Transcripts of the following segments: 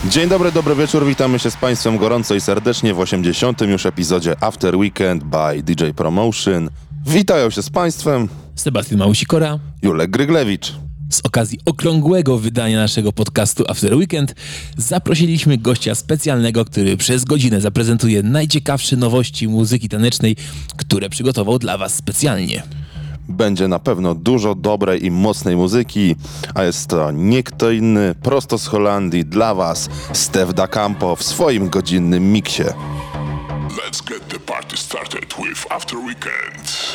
Dzień dobry, dobry wieczór, witamy się z Państwem gorąco i serdecznie w 80. już epizodzie After Weekend by DJ Promotion. Witają się z Państwem Sebastian Małusikora, Julek Gryglewicz. Z okazji okrągłego wydania naszego podcastu After Weekend zaprosiliśmy gościa specjalnego, który przez godzinę zaprezentuje najciekawsze nowości muzyki tanecznej, które przygotował dla Was specjalnie. Będzie na pewno dużo dobrej i mocnej muzyki, a jest to nie kto inny, prosto z Holandii dla Was, Stef Da Campo w swoim godzinnym miksie. Let's get the party started with After Weekend.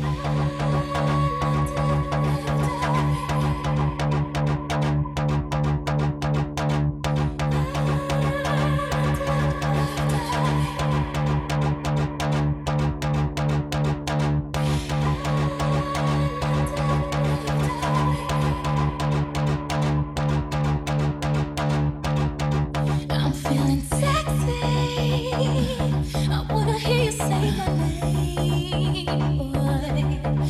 I'm feeling sexy. I wanna hear you say my name, boy.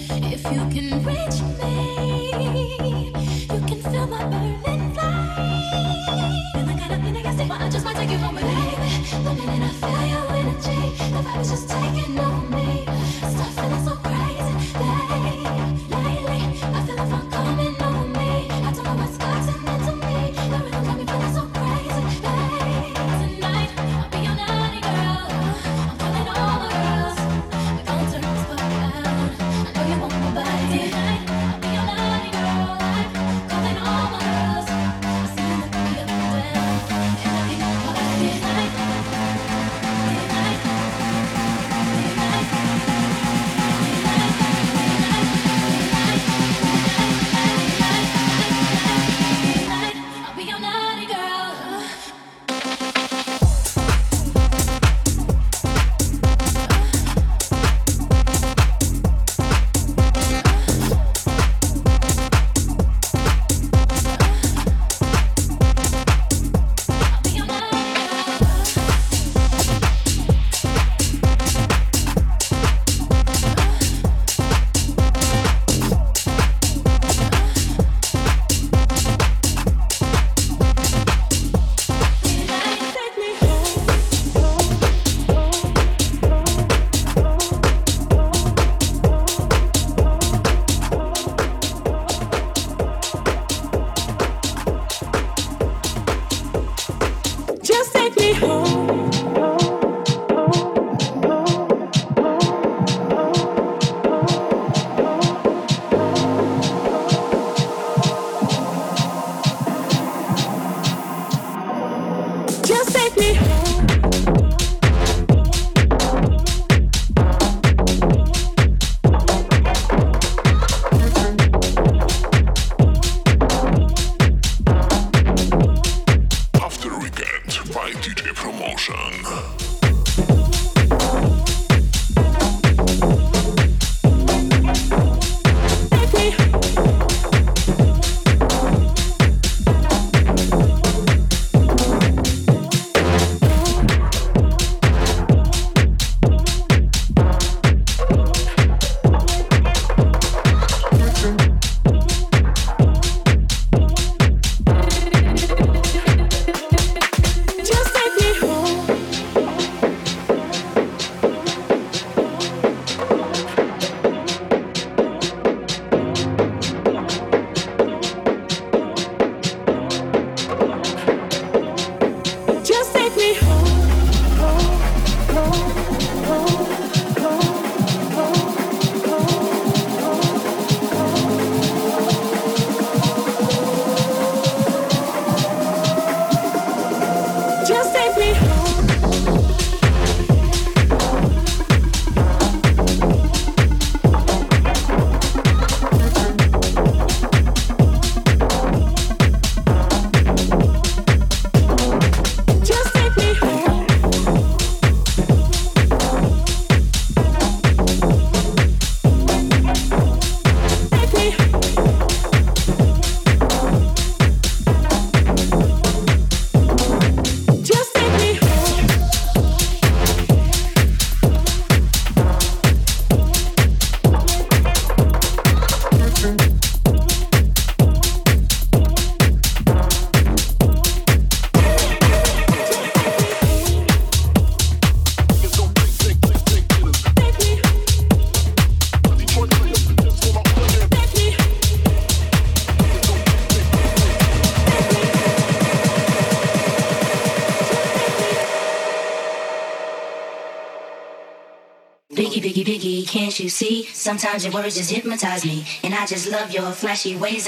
Biggie, biggie, biggie, can't you see? Sometimes your words just hypnotize me, and I just love your flashy ways.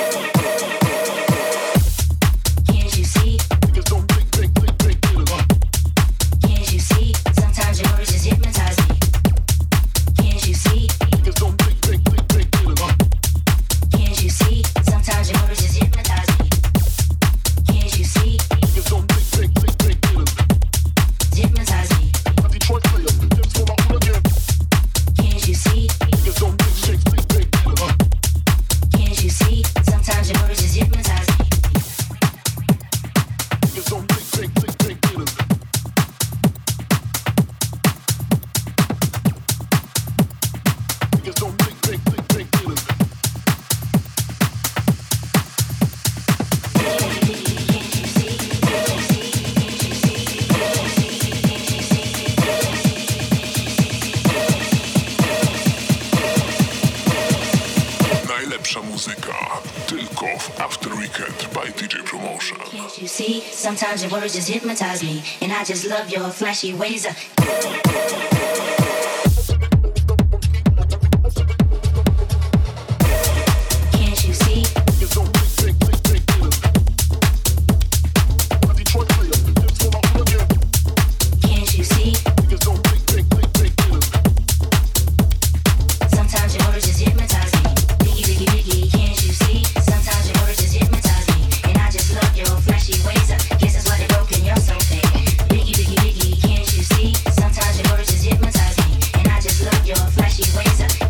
Can't you see? Can't you see? Sometimes your words just hypnotize me. Can't you see? Can't you see? Sometimes your words just hypnotize me. Can't you see? Hypnotize me. Can't you see? Can't you see? Sometimes your words just hypnotize me. Najlepsza muzyka tylko w After Weekend by DJ Promotion. Can't you see? Sometimes your words just hypnotize me, and I just love your flashy ways. Can't you see? Can't you see? Sometimes your words just hypnotize me. Biggie, biggie, biggie, can't you see? Sometimes your words just hypnotize me, and I just love your flashy ways. Guess that's why they broke and you're so fake. Biggie, biggie, biggie, can't you see? Sometimes your words just hypnotize me, and I just love your flashy ways.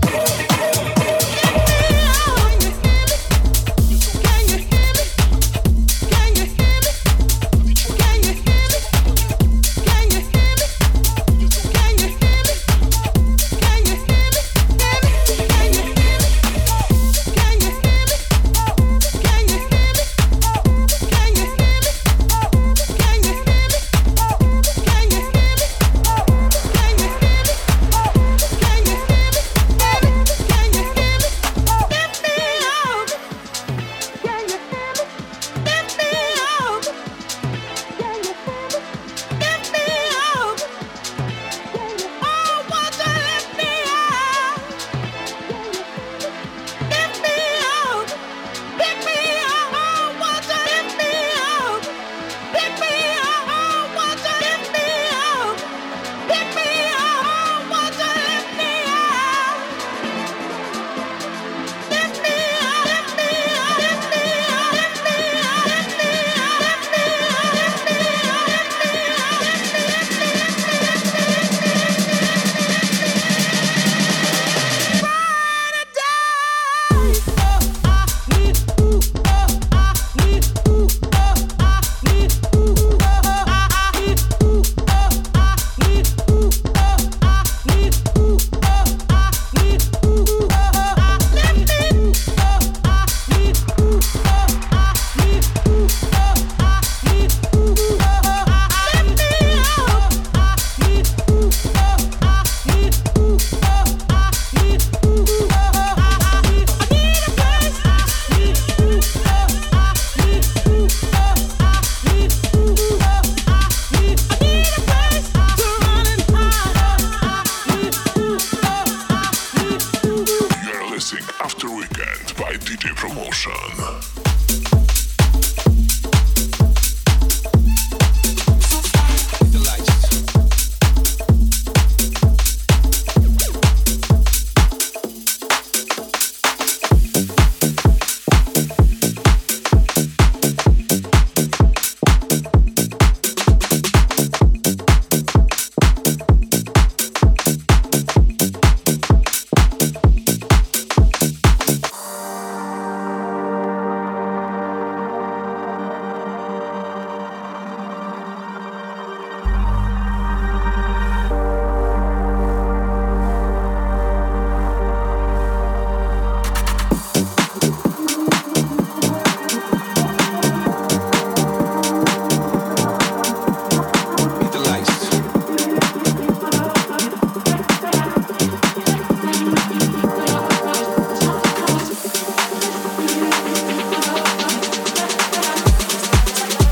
After Weekend by DJ Promotion.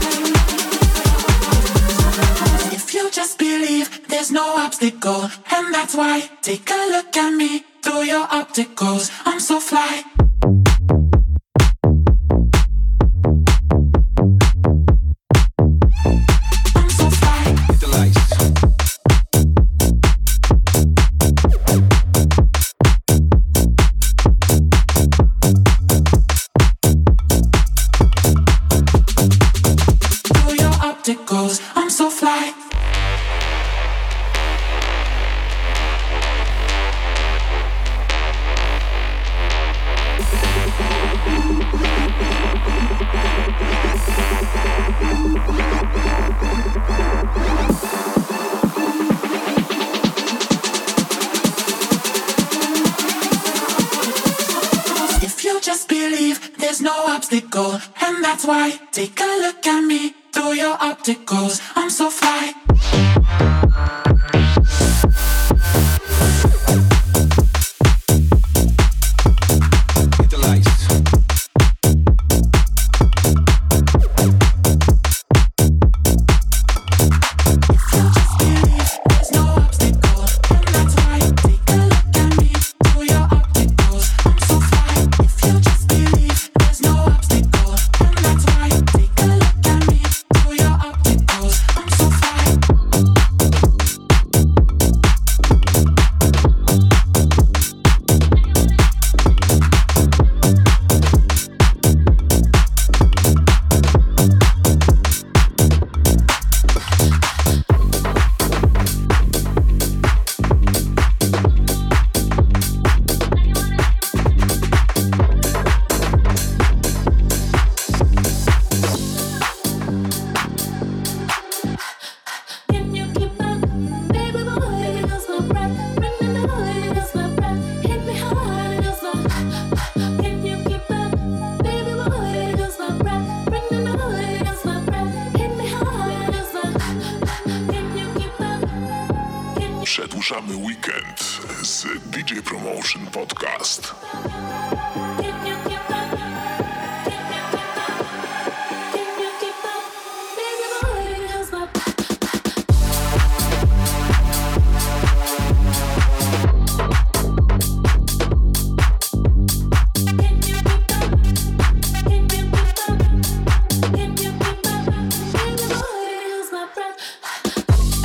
There's no obstacle, and and that's why. Take a look at me through your opticals. I'm so fly. I'm so fly. Hit the lights. Through your opticals. I'm so fly. If you just believe, there's no obstacle, and that's why. Take a look at me through your opticals. I'm so fly. Hit the lights. If you just believe, there's no obstacle, and that's why. Take a look at me through your opticals. I'm so fly. If you just believe, there's no obstacle, and that's why. Take a look at me through your opticals. I'm so fly. Can you keep up? Baby boy, it goes my breath. Bring me down, it goes my breath. Hit me hard, it goes my. Can you keep up? Baby boy, it goes my breath. Bring me down, it goes my breath. Hit me hard, it goes my. Can you keep up? Can you Przedłużamy weekend z DJ Promotion Podcast. Can you keep up? Can you keep up? Can you keep up? Baby boy, it goes my. Can you keep up? Can you keep up? Can you keep up? Baby boy, it goes my breath.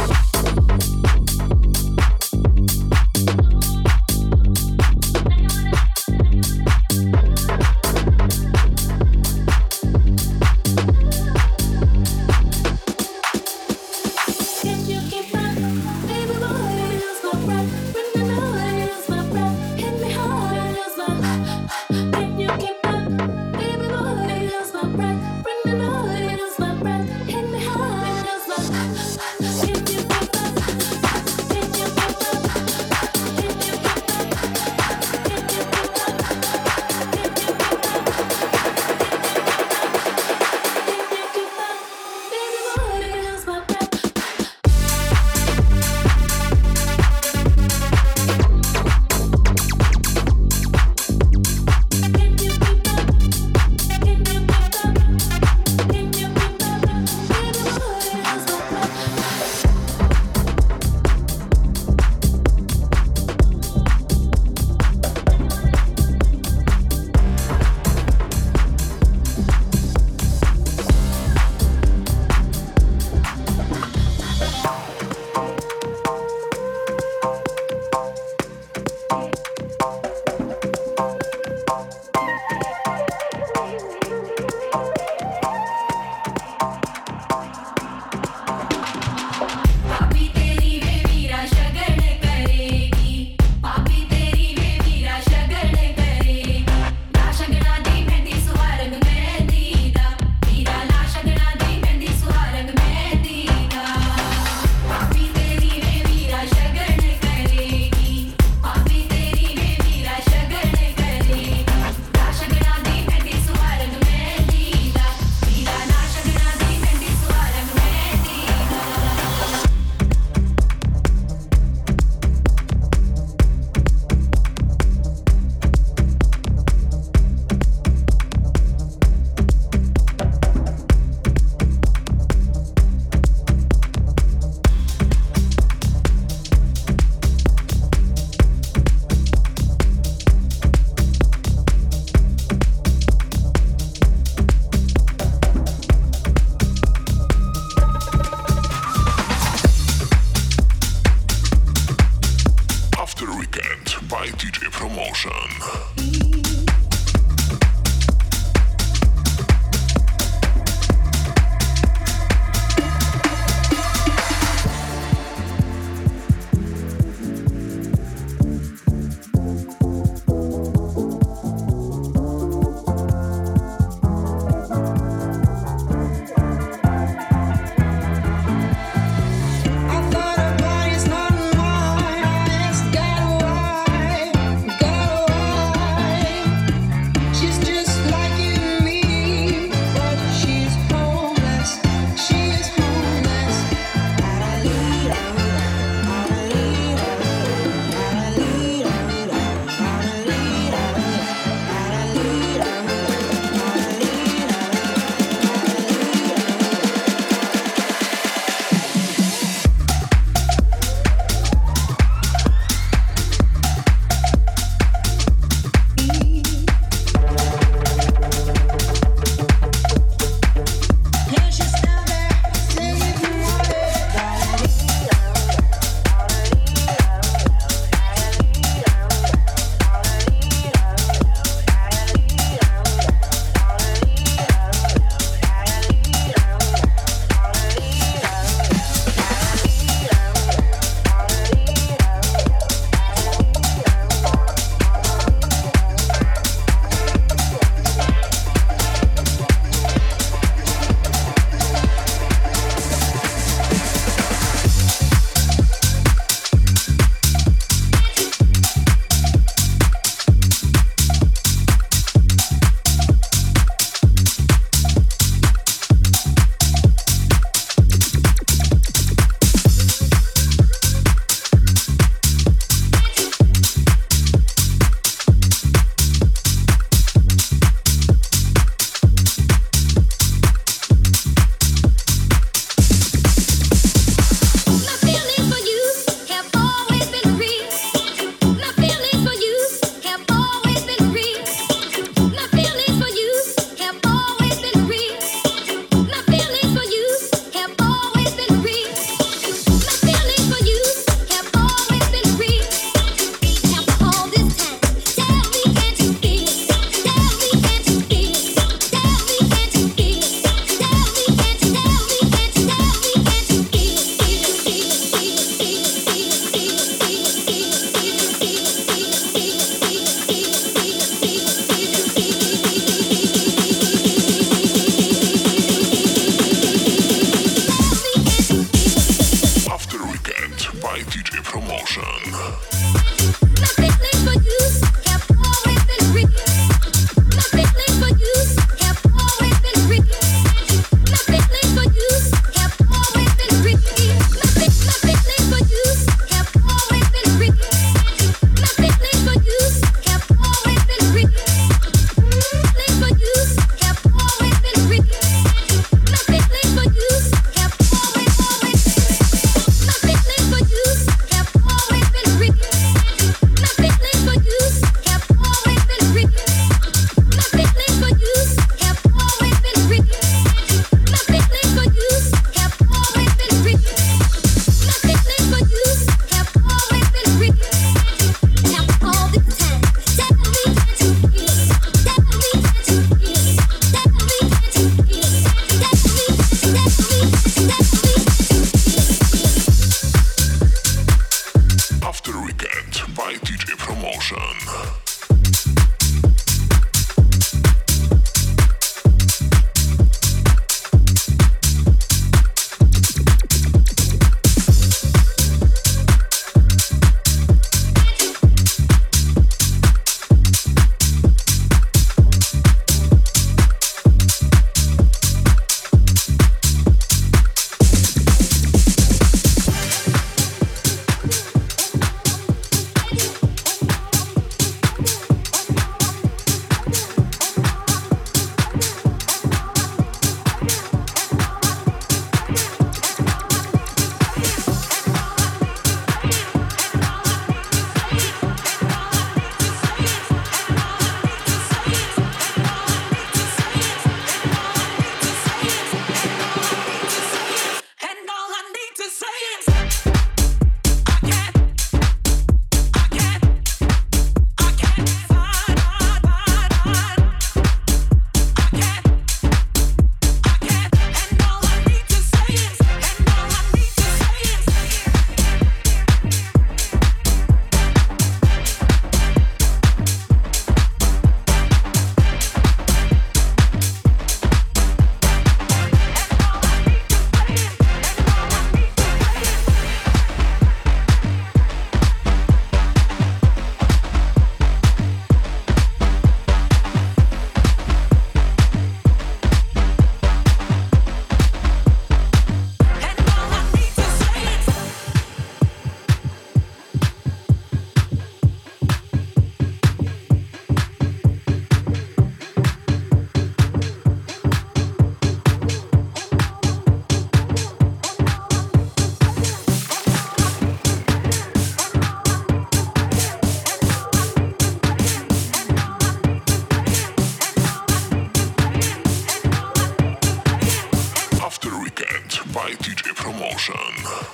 Promotion.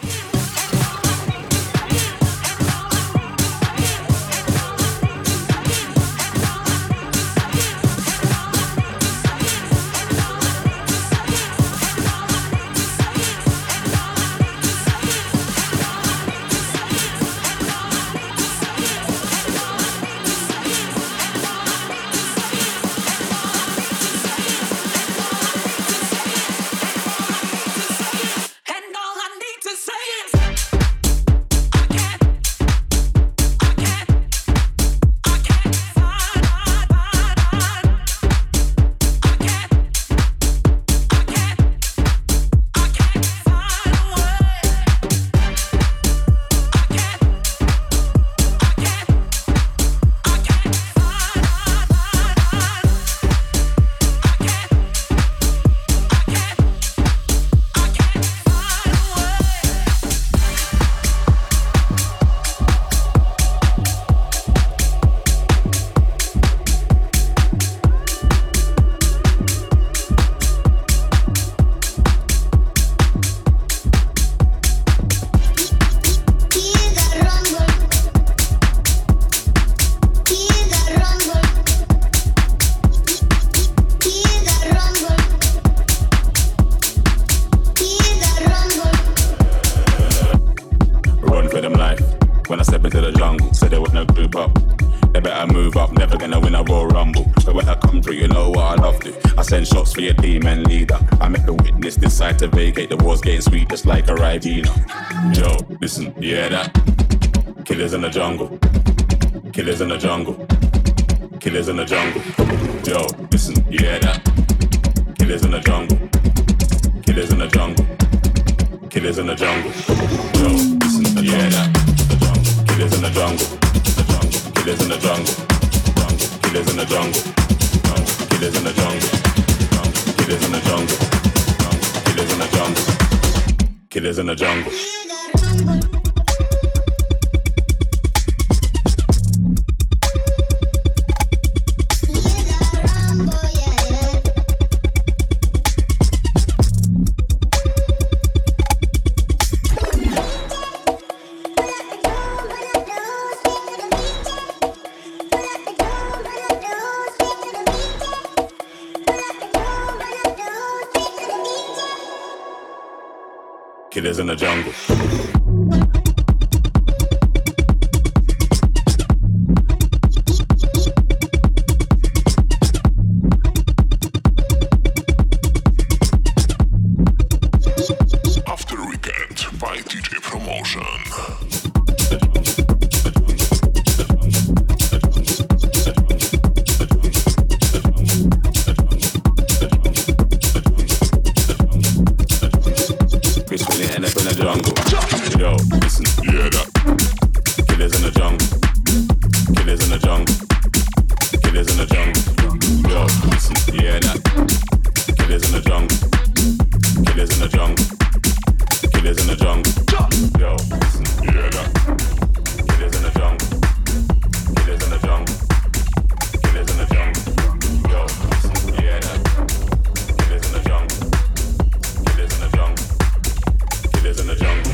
And all I need to say is Run for them life. When I step into the jungle, said they wanna group up. They better move up, never gonna win a Royal Rumble. But when I come through, you know what I love to. I send shots for your team and leader. I make the witness decide to vacate. The war's getting sweet just like a Ribena. Yo, listen, you hear that? Killers in the jungle. Killers in the jungle. Killers in the jungle. Yo, listen, you hear that? Killers in the jungle. Killers in the jungle. Killers in the jungle. Yo, listen, you hear that? The jungle. Killers in the jungle. The jungle. Killers in the jungle. Jungle. Killers in the jungle. Jungle. Killers in the jungle. Jungle. Killers in the jungle. Jungle. Killers in the jungle. Killers in the jungle. Killers in the jungle. After Weekend by DJ Promotion. Peacefully end up in the jungle. Yo, listen, Yeah, that. killers in the jungle. Killers in the jungle. Killers in the jungle. Yo, listen, yeah, that. Killers in the jungle. Killers in the jungle. Killers in the jungle. Yo, listen, Yeah, that. killers in the jungle. Killers in the jungle. Killers in the jungle. Yo, listen, yeah, that. Killers in the jungle. Killers in the jungle. Killers in the jungle.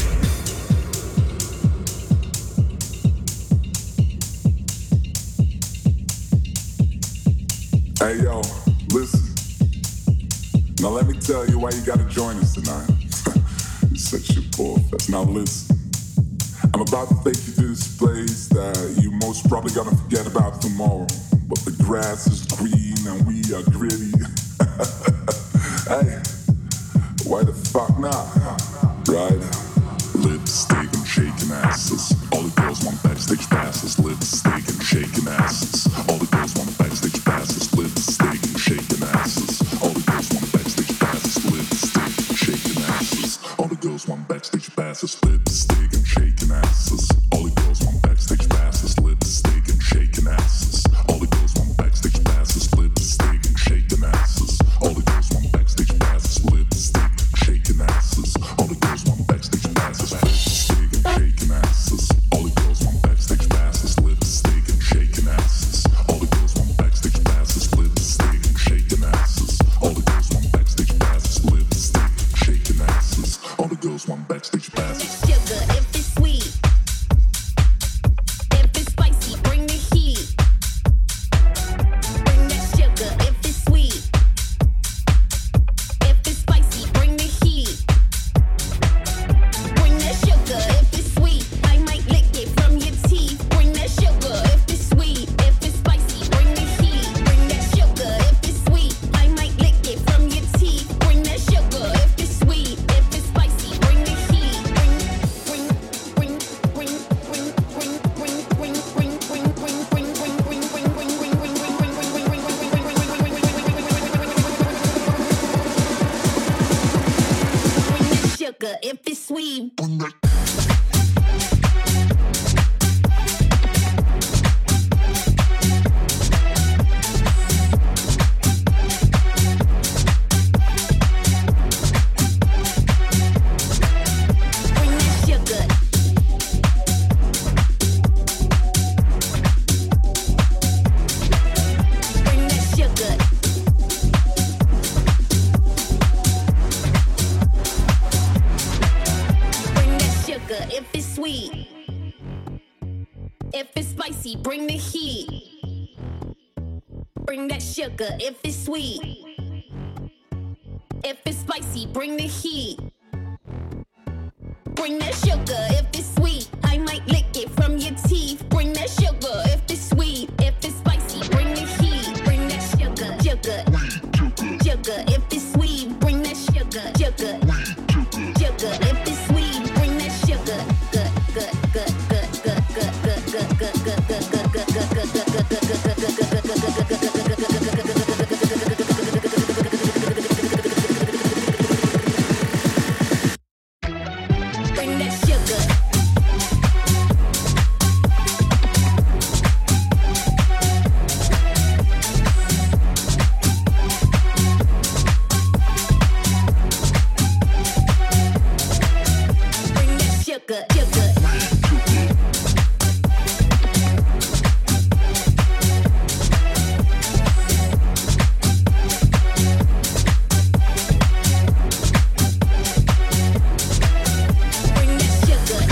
Hey yo, listen. Now let me tell you why you gotta join us tonight. You're such a poor fest. Now listen. I'm about to take you to this place that you most probably gonna forget about tomorrow. But the grass is green and we are gritty. Hey, why the fuck not? Right? Lipstick and shaking asses. All the girls want backstage passes. Lipstick and shaking asses. All the girls want backstage passes. Lipstick and shaking asses. All the girls want backstage passes. Lipstick and shaking asses. All the girls want backstage passes. Lipstick and shaking asses. All the girls want backstage passes. Lipstick and shaking asses. All the girls want backstage passes. Lipstick and shaking asses. All the girls sugar if it's sweet. Bring that sugar. Bring that sugar. Bring that sugar if it's sweet. If it's spicy, bring the heat. Bring that sugar if it's sweet. If it's spicy, bring the heat. Bring that sugar if it's sweet. I might lick it from your teeth. Bring that sugar if it's sweet. If it's spicy, bring the heat. Bring that sugar, sugar, sugar. If it's sweet, bring that sugar, sugar, sugar. If it's sweet, bring that sugar. Good, good, good, good, good, good, good, good, good, good, good, good, good, bring that sugar. Bring that sugar, sugar. Bring that sugar.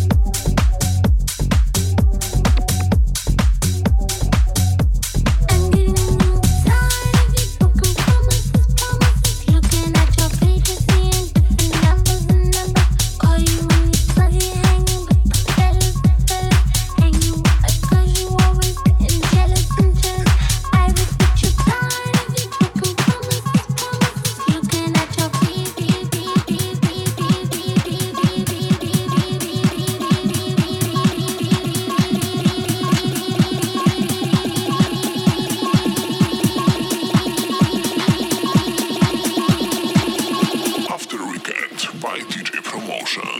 I'm getting tired of these broken promises. Looking at your pages, seeing different numbers and numbers. Call you when you're slutty, hanging with the fellas. Hanging with the girls, you always getting jealous and jealous. I was but you're tired of these broken promises. Looking at your After Weekend by DJ Promotion.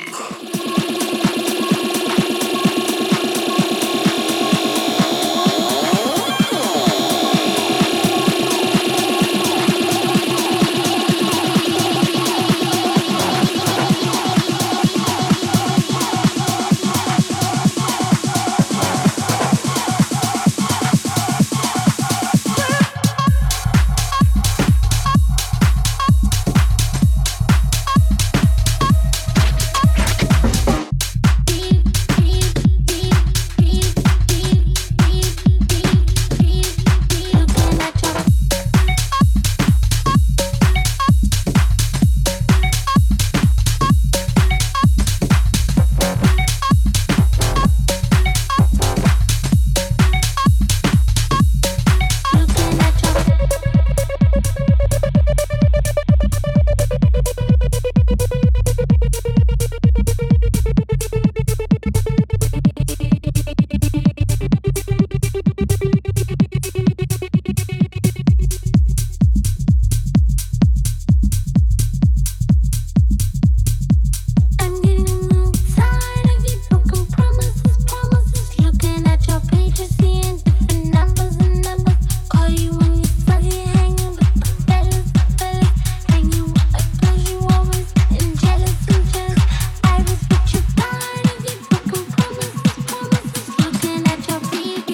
I'm getting tired of these broken promises. Looking at your pages, seeing different numbers and numbers. Call you when you're slutty, hanging with the fellas. Hanging with the girls, you always getting jealous and jealous. I was but you're tired of these broken promises. Looking at your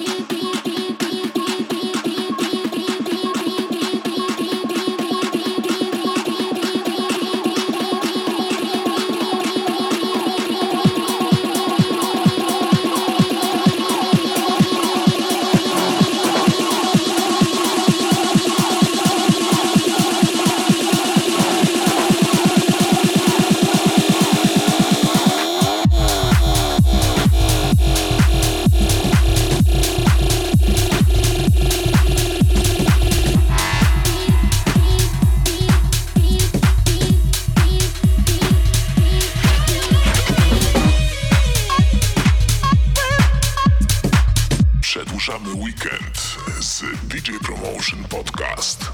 Przedłużamy weekend z DJ Promotion Podcast.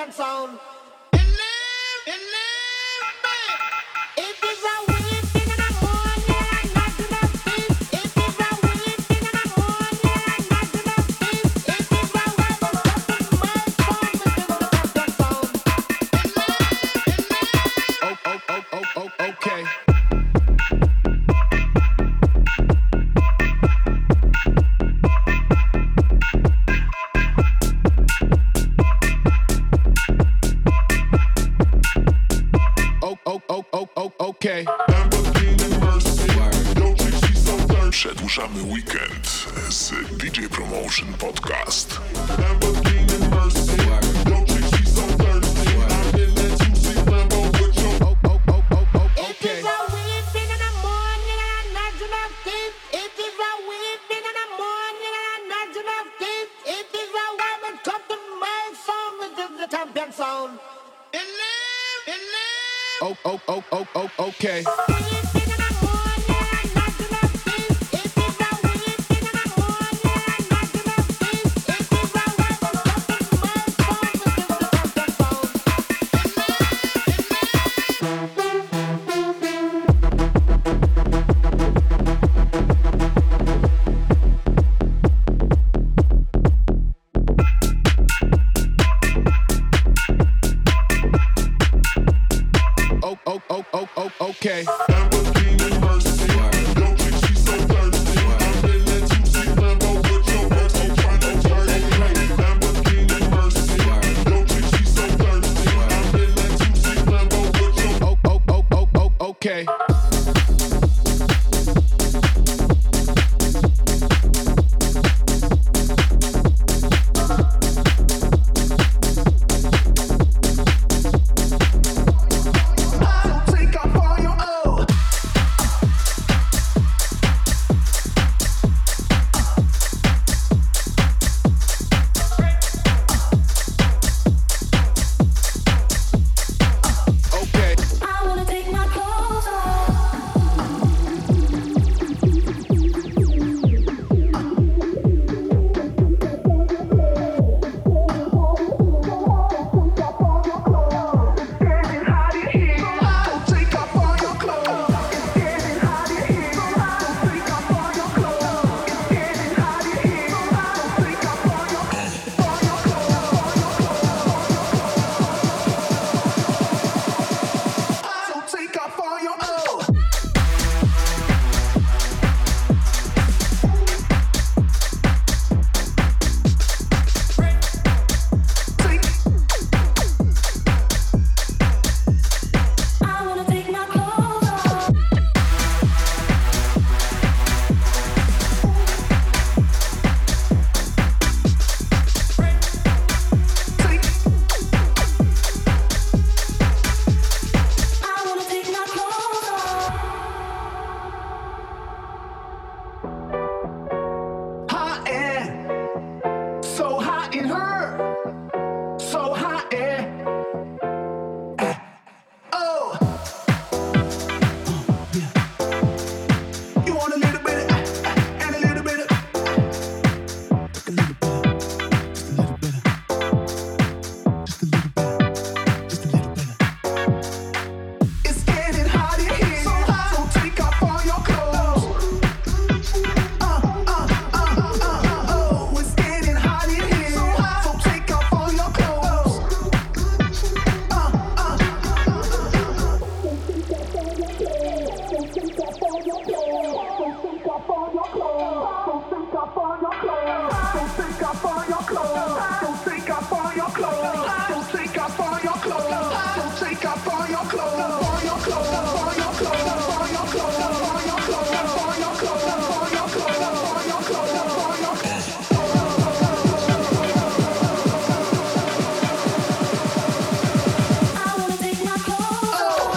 champion sound. Okay. Okay. Przedłużamy weekend z DJ Promotion Podcast. Okay. Okay. Okay. I wanna take my clothes off. I wanna take my clothes off. I wanna take my clothes off. Hot and so hot in her, so hot and oh, yeah. You want a little bit and a little bit a little bit, just a little bit, just a little bit, just a little bit. It's getting hot in here, so take off all your clothes. Oh, it's getting hot in here, so take off all your clothes. I wanna take my clothes off.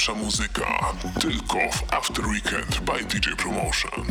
najlepsza muzyka tylko w After Weekend by DJ Promotion.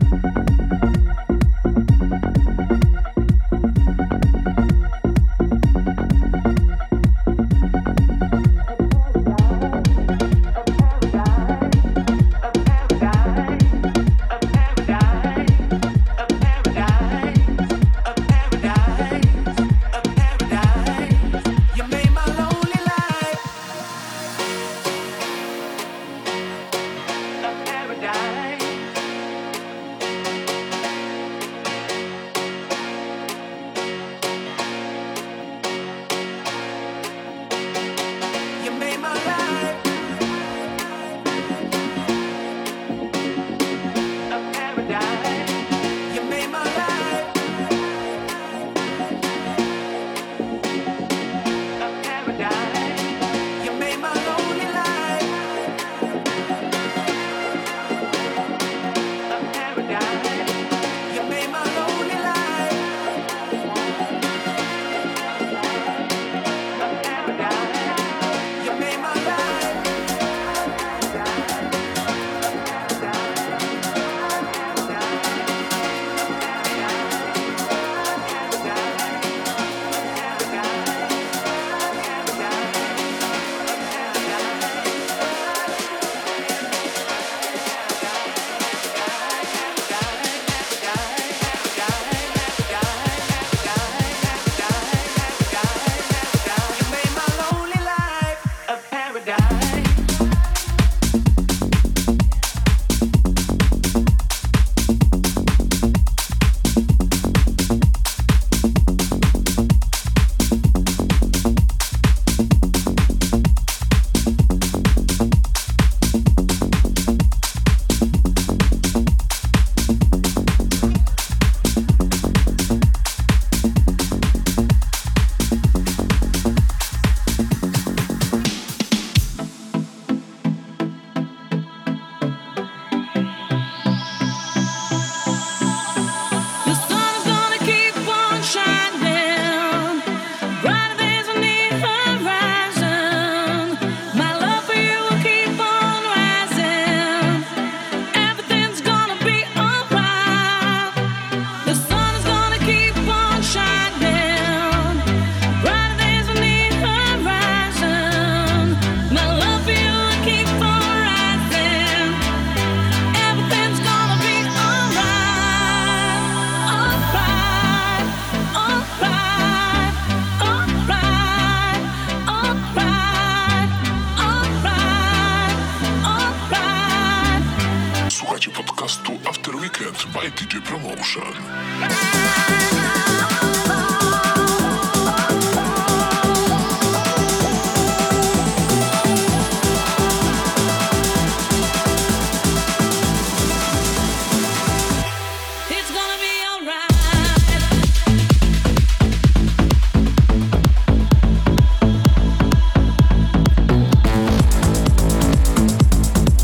by DJ Promotion.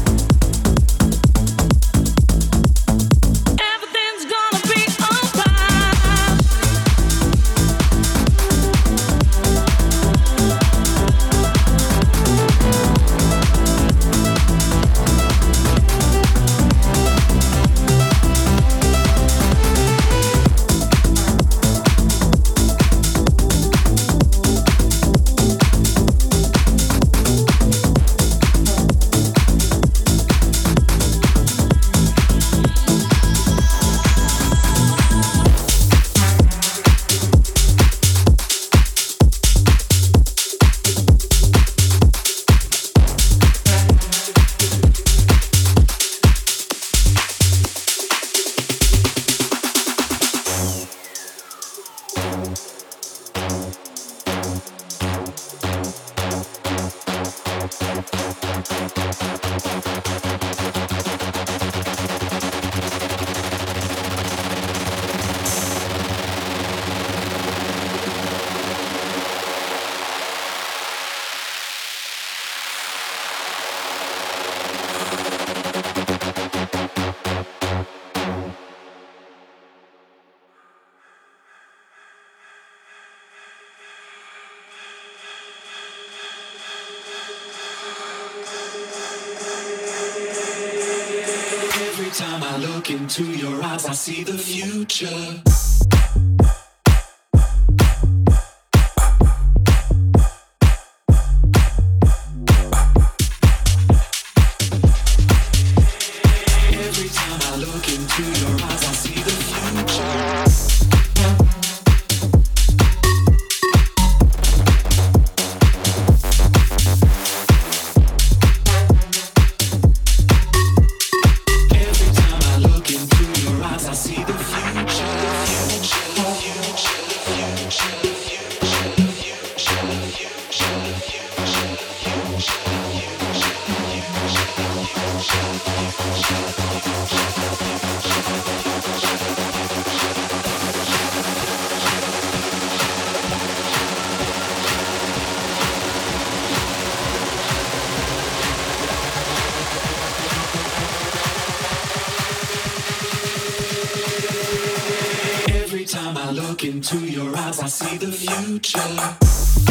Everything's gonna be alright. time I look into your eyes, I see the future. Every time I look into your eyes, I see the future. Every time I look into your eyes, I see the future. Every time I look into your eyes, I see the future.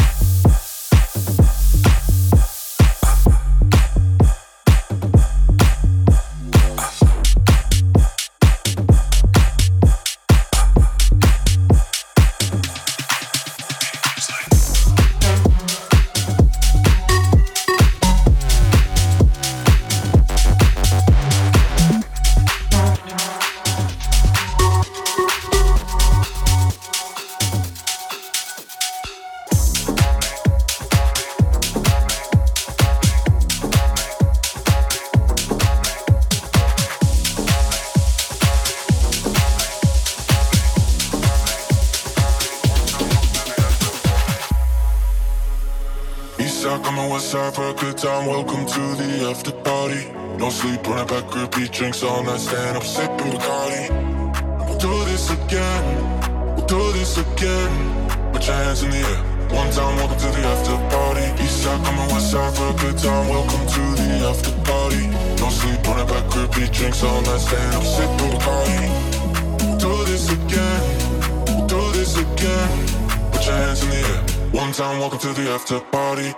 Eastside, coming west side for a good time. Welcome to the after party. No sleep on a back, repeat drinks all night. Stand up, sipping Bacardi. We'll do this again. We'll do this again. Put your hands in the air. One time, welcome to the after party. Eastside, coming west side for a good time. Welcome to the after party. No sleep on a back, repeat drinks all night. Stand up, sipping Bacardi. We'll do this again. We'll do this again. Put your hands in the air. One time, welcome to the after party.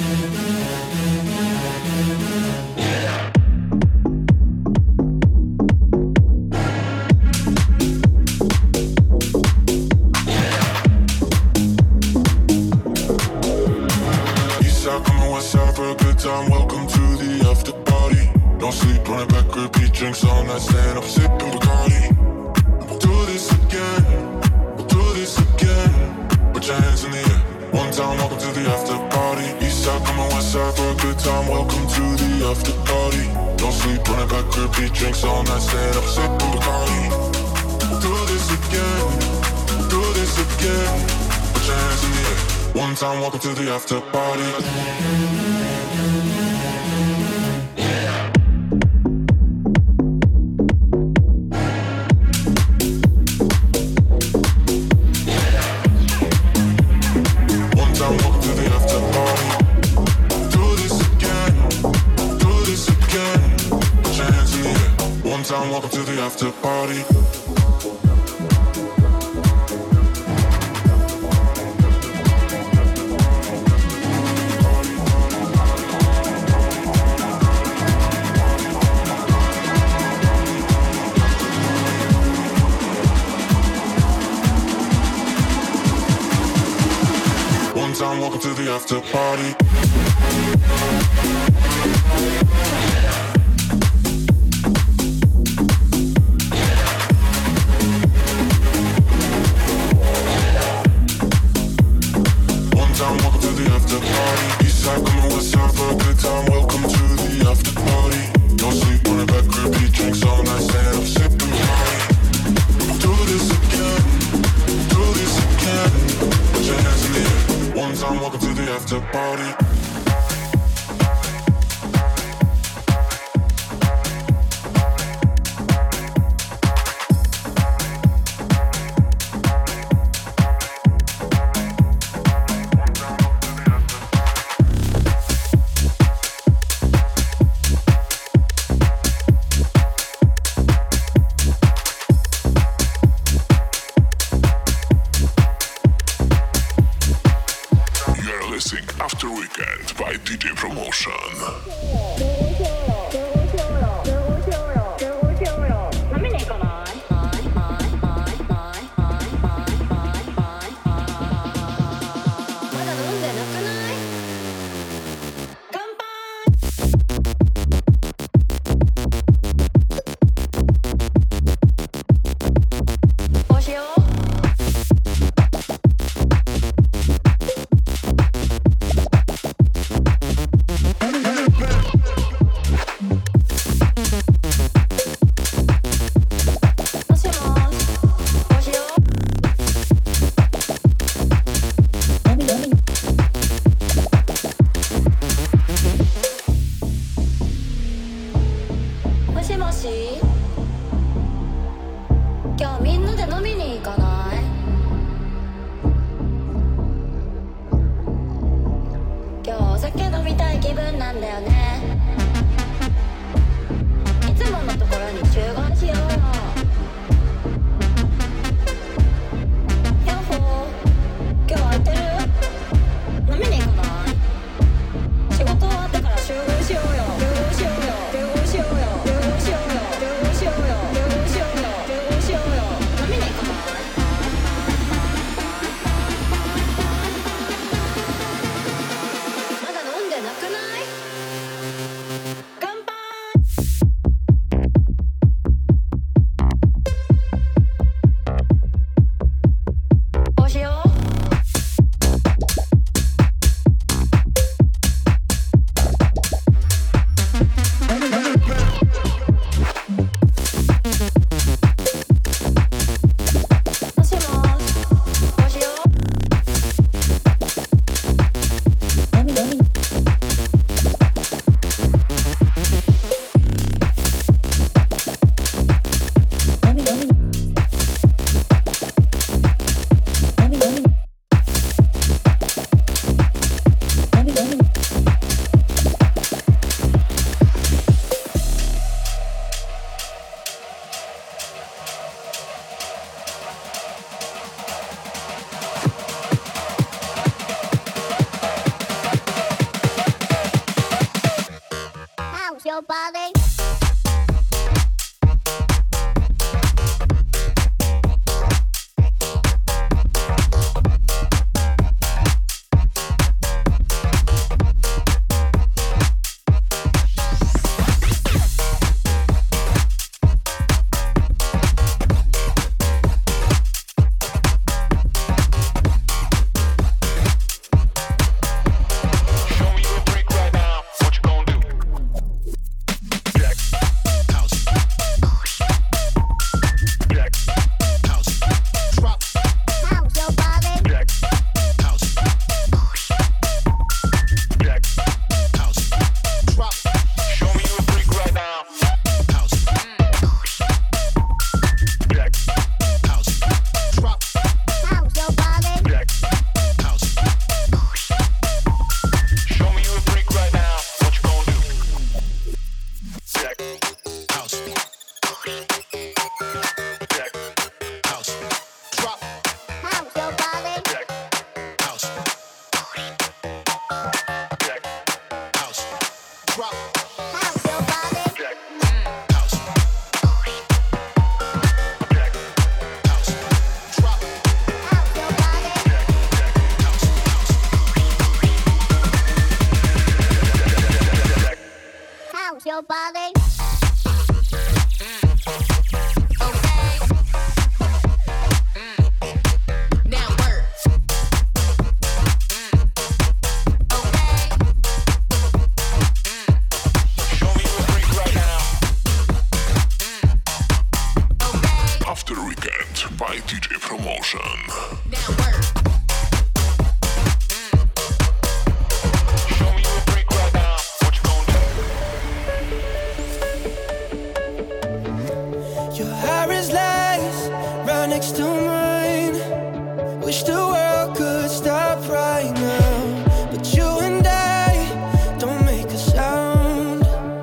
Eastside, coming west side for a good time. Welcome to the after party. No sleep, running back, repeat drinks all night. Stand up, sipping Bacardi. We'll do this again. We'll do this again. Put your hands in the air. One time, welcome to the after party. Eastside, coming west side for a good time. Welcome to the after party. No sleep, running back, repeat drinks all night. Stand up, sipping Bacardi. Do this again, do this again. Put your hands in the air. One time, welcome to the after party. One time, welcome to the after party. Do this again, do this again. Put your hands in the air. One time, welcome to the after party. One time, welcome to the after party. One time, welcome to the after party. Eastside, coming west side for a good time. Welcome to the after party. No sleep on the back, repeat drinks all night. Stand up, sipping Bacardi. Do this again, do this again. Put your hands in the air. One time, welcome to the after party. You're listening After Weekend by DJ Promotion. なんだよねいつものところに集合しようよヤッホー今日空いてる飲みに行かない仕事終わってから集合しようよ集合しようよ集合しようよ集合しようよ集合しようよ集合しようよ集合しようよ飲みに行かないまだ飲んでなくない乾杯こうしようもしもーしこうしようHow's your body? Show me a break right now. What you gonna do? Black house. Black house. Drop. How's your body? Black house. Black house. Drop. Show me a break right now. House. Black house. Drop. How's your body? Black house. Show me a break right now. What you gonna do? Black house. Black house. Drop. How's your body? Black house. Black house. Drop. How's your body? Black house. Black house. Drop. How's your body? How's your body? Now work. Show me a break right now. After Weekend by DJ Promotion. Now work. Show me a break right now. What you gonna do? Your hair is lace right next to mine. Wish the world could stop right now, but you and I don't make a sound.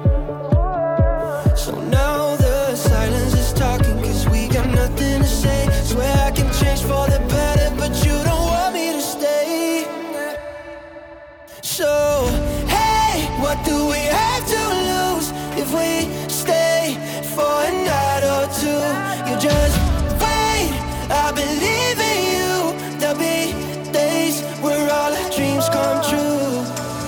So now the silence is talking, 'cause we got nothing to say. Swear I can change for the better, but you don't want me to stay. So, hey, what do we have to lose if we stay for a night or two? You just wait, I believe in you. There'll be days where all our dreams come true.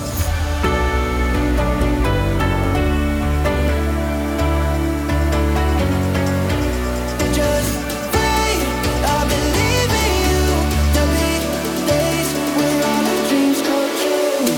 Just wait, I believe in you. There'll be days where all our dreams come true.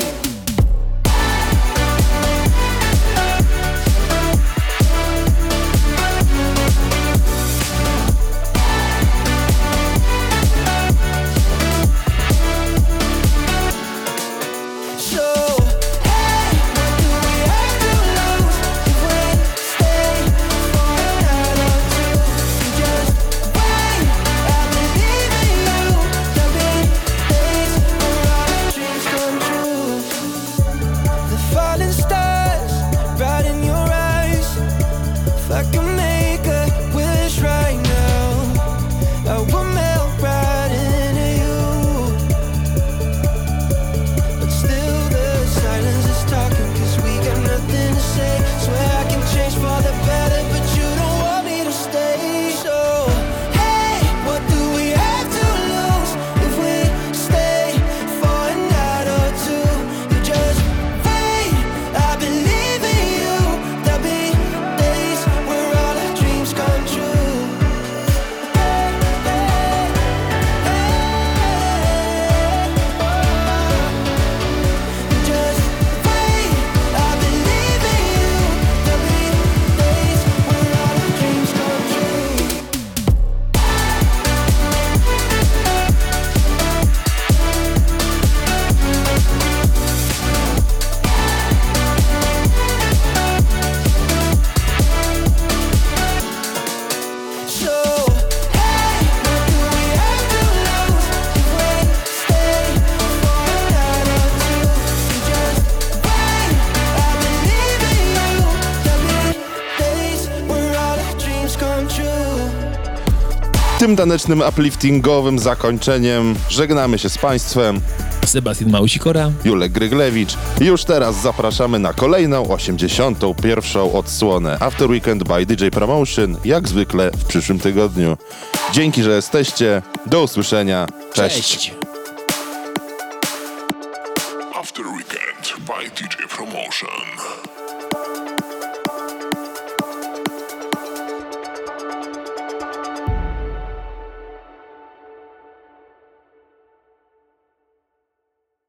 Tym tanecznym, upliftingowym zakończeniem żegnamy się z Państwem. Sebastian Małysikora. Julek Gryglewicz. Już teraz zapraszamy na kolejną 81. odsłonę After Weekend by DJ Promotion, jak zwykle w przyszłym tygodniu. Dzięki, że jesteście. Do usłyszenia. Cześć. After Weekend by DJ Promotion.